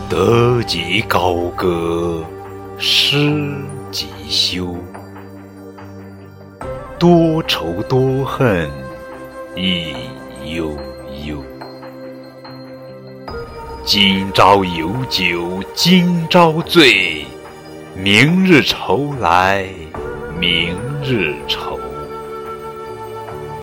得即高歌，失即休。多愁多恨亦悠悠。今朝有酒今朝醉，明日愁来明日愁。